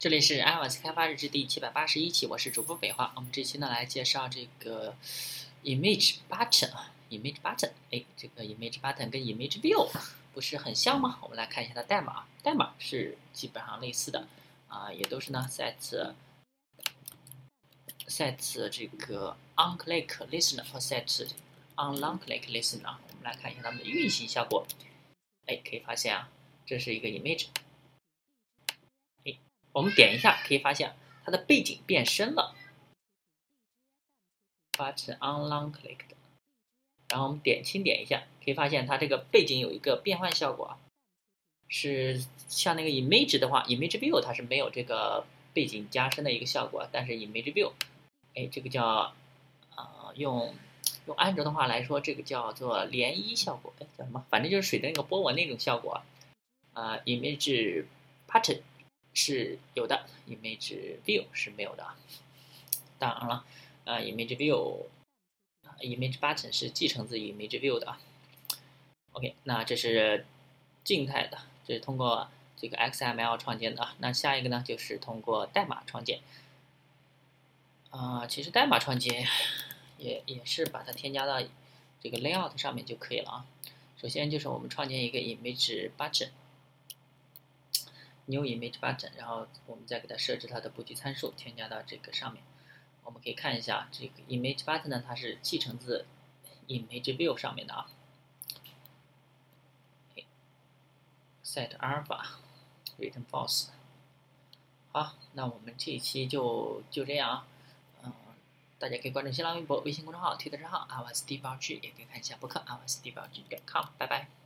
这里是 iOS 开发日志第781期，我是主播北华。我们这期呢来介绍这个 image button 啊，image button。这个 image button 跟 image view 不是很像吗？我们来看一下它代码，代码是基本上类似的啊，也都是呢 set 这个 onClick listener 和 set onLongClick listener。我们来看一下它们的运行效果。可以发现啊，这是一个 image。我们点一下，可以发现它的背景变深了 ，button onLongClick 的。然后我们轻点一下，可以发现它这个背景有一个变换效果，是像那个 image 的话 ，image view 它是没有这个背景加深的一个效果，但是 image view，这个叫用安卓的话来说，这个叫做涟漪效果，叫什么？反正就是水的那个波纹那种效果。image button 是有的 ，image view 是没有的。当然了，image view、image button 是继承自 image view 的。OK， 那这是静态的，这是通过这个 XML 创建的。那下一个呢，就是通过代码创建。其实代码创建也是把它添加到这个 layout 上面就可以了啊。首先就是我们创建一个 image button。New image button， 然后我们再给它设置它的布局参数，添加到这个上面。我们可以看一下这个 image button 呢，它是继承自 image view 上面的啊。set alpha return false。好，那我们这一期就这样啊。大家可以关注新浪微博、微信公众号、推特账号 iOS 地包剧，也可以看一下博客 iOS 地包剧.com。拜拜。